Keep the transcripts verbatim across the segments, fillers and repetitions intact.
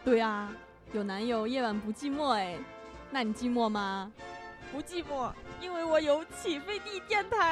对啊，有男友夜晚不寂寞哎，那你寂寞吗？ 不寂寞，因为我有起飞地电台。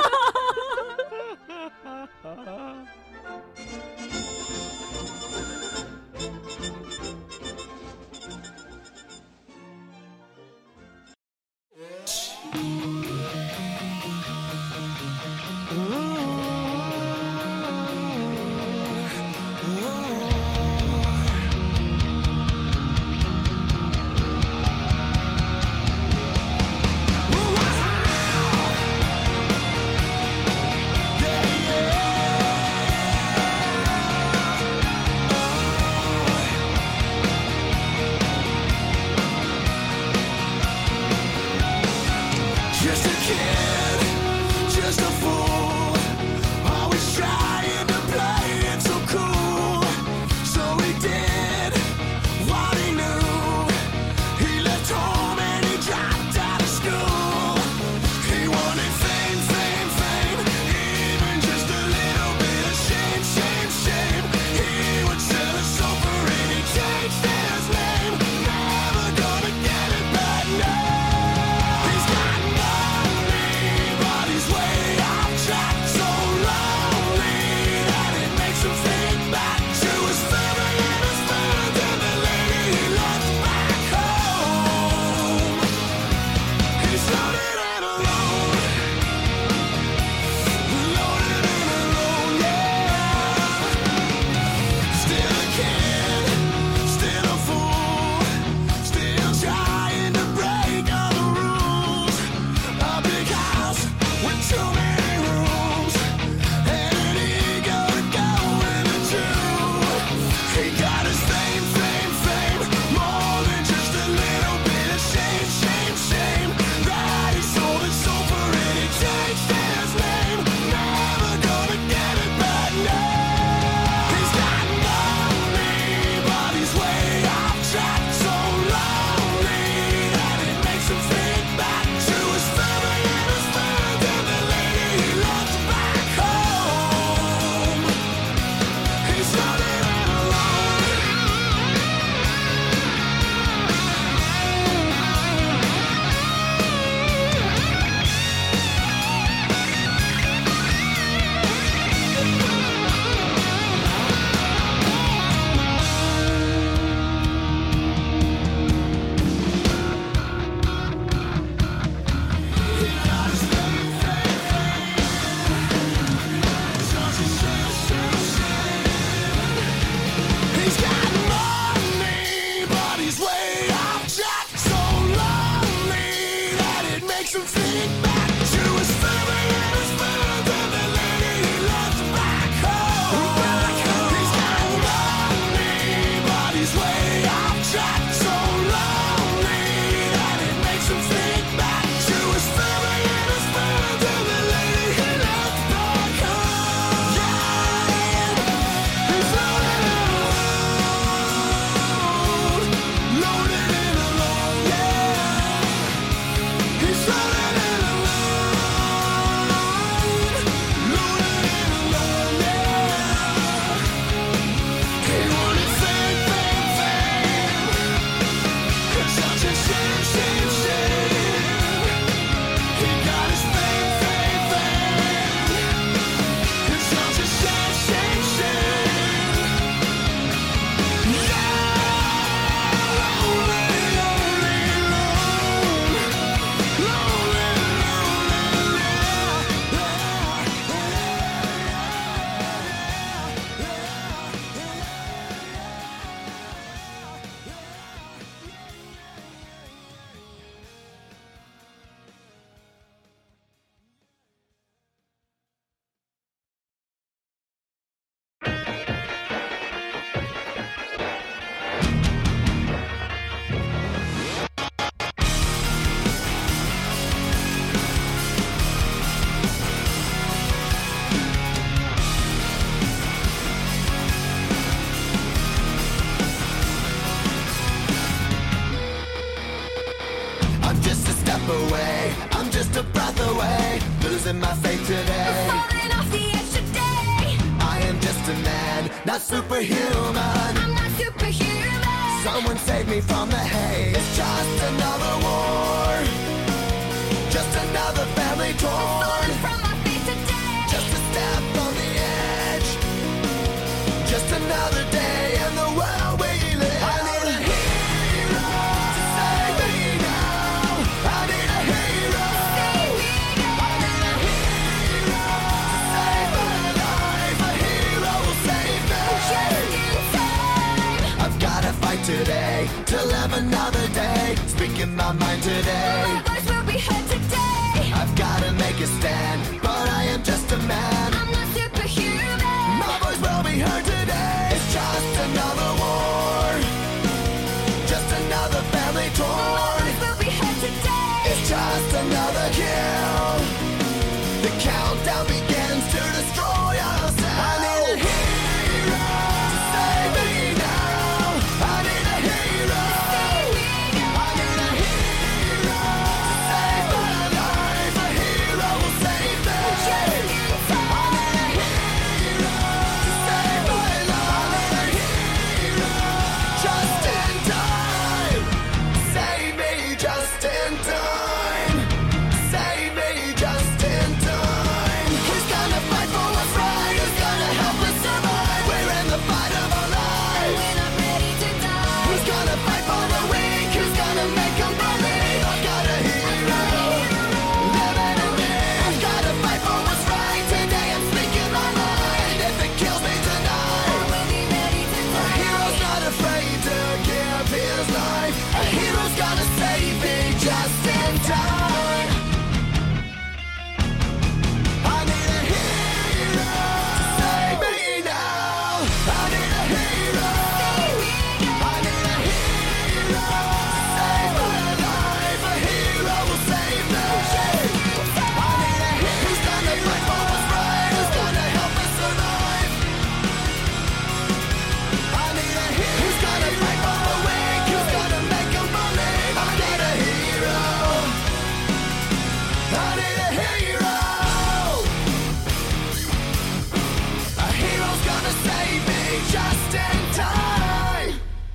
away. I'm just a breath away, losing my faith today. Falling off the edge today. I am just a man, not superhuman. I'm not superhuman. Someone save me from the haze. It's just another war, just another family torn from my feet today. Just a step on the edge, just another day in the world we live. I need a hero to save me now. I need a hero. I need a hero to save my life. A hero will save me. I've gotta fight today to live another day. Speaking my mind today. My voice will be heard today. I've gotta make a stand, but I am just a man. I'm not superhuman. My voice will be heard today. It's just another war, just another family My torn. voice will be heard today. It's just another kill. The countdown begins to destroy ourselves. I need a hero to save me now. I need a hero. I need a hero to save my life. A hero will save me. I need a hero to save my life. I need a hero just in time. Save me just in time. Save me just in time. Who's gonna fight for what's right? Who's gonna help us survive? We're in the fight of our lives. When I'm ready to die. Who's gonna fight for the weak? Who's gonna make them believe? I've got a hero living in me. I've gotta fight for what's right. Today I'm speaking my mind. If it kills me tonight, I will be ready to a die. hero's not afraid to give his life. A hero's gonna save me just in time. I need a hero to save me now. I need a hero. I need a hero to save my life. A hero will save me. I need a hero who's gonna fight for what's right. Who's gonna help us survive. I need a hero who's gonna fight for the weak. Who's gonna make them believe. I need a hero. I need a hero. A hero's gonna save me just in time.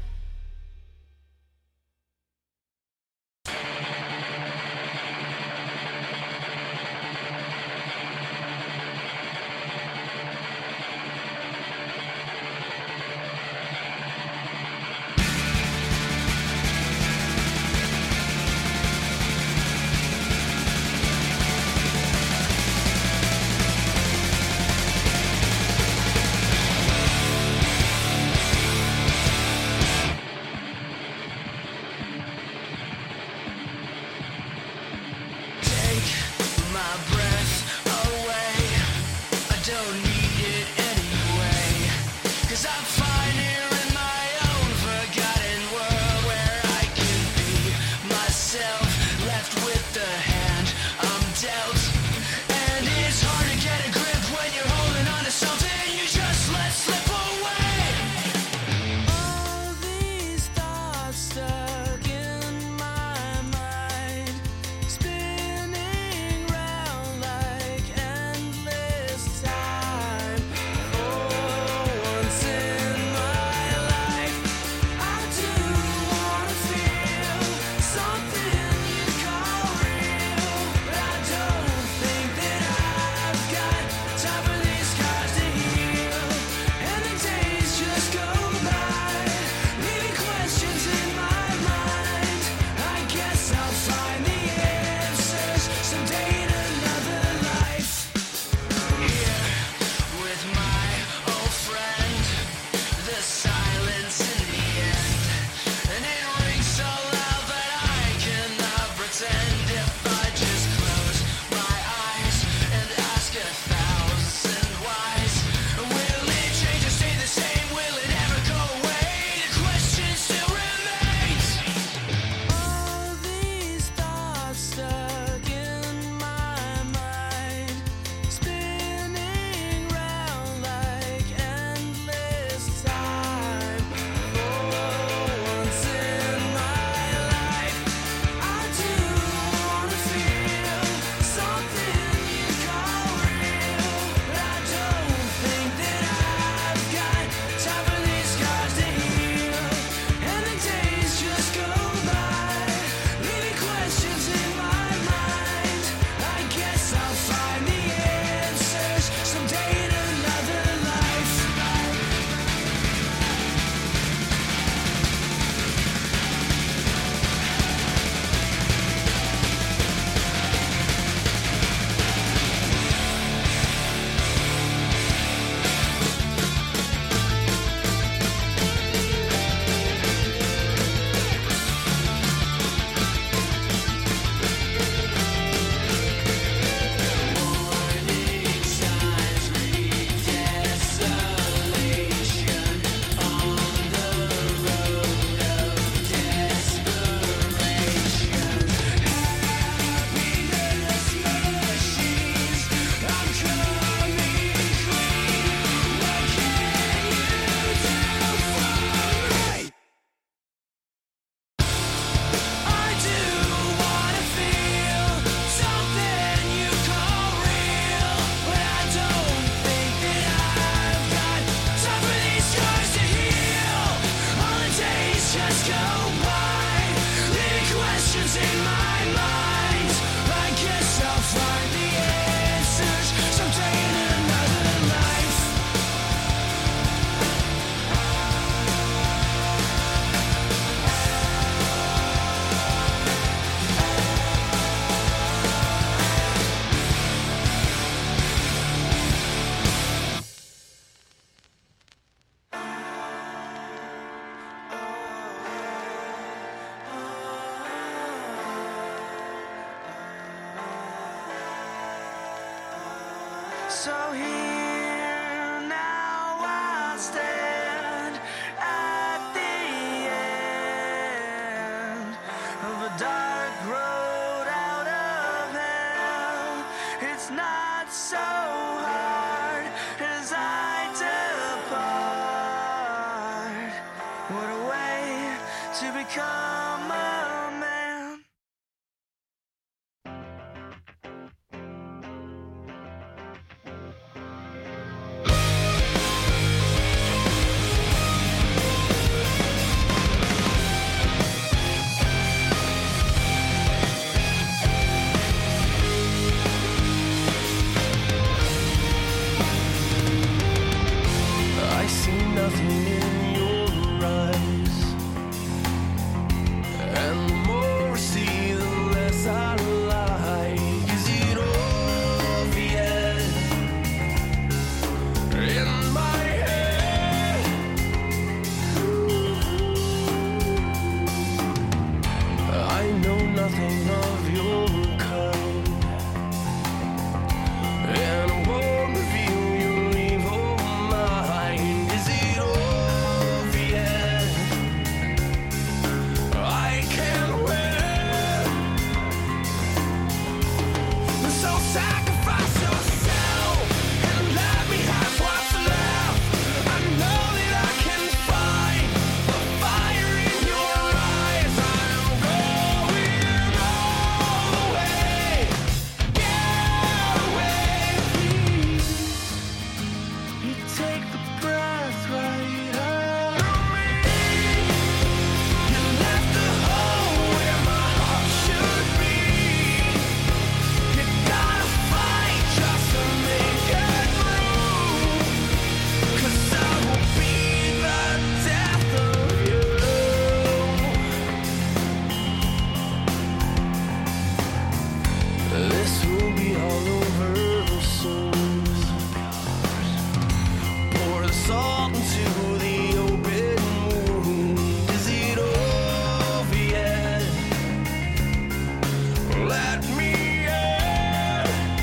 Take my breath away. I don't need it anyway. 'Cause I'm fine here in my own forgotten world where I can be myself, left with the hand I'm dealt. And it's hard to get a grip when you're holding on to something you just let slip away. All these thoughts stuck in my mind, spinning round like endless time. For once in my life, I do wanna feel something So here now I stand at the end of a dark road out of hell. It's not so hard as I depart. What a way to become a man. I see nothing in your eyes, and the more I see, the less I like. Is it obvious in my head? I know nothing of your kind, and I won't reveal your evil mind. Is it obvious? I can't win. So sacrifice yourself and let me have what's left. I know that I can find the fire in your eyes. I'm going all the way. Get away, please. You take the breath right out of me. You left the hole where my heart should be. You gotta fight just to make it through. 'Cause I will be the death of you. This will be all over soon. Pour the salt into the open wound. Is it obvious? Let me in.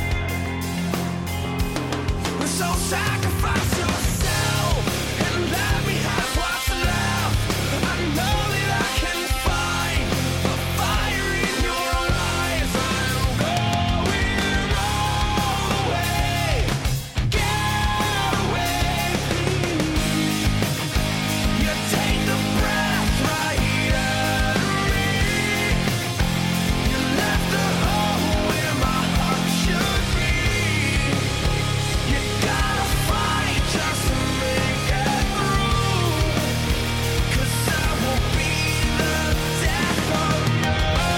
So sacrifice yourself and let me have what's left. I know that I can find the fire in your eyes. I'm going all the way. Get away, please. You take the breath right out of me. You left the hole where my heart should be. You gotta fight just to make it through. 'Cause I will be the death of you.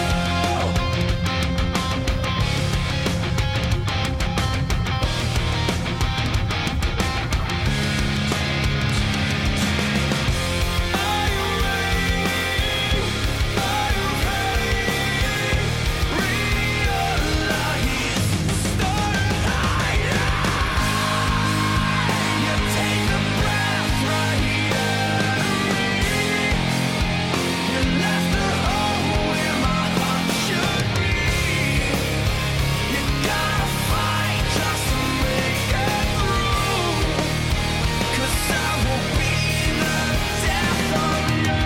Are you ready? Are you ready? Realize start higher. You take the breath right out of me. You left the hole where my heart should be. You gotta fight just to make it through. 'Cause I will be the death of you.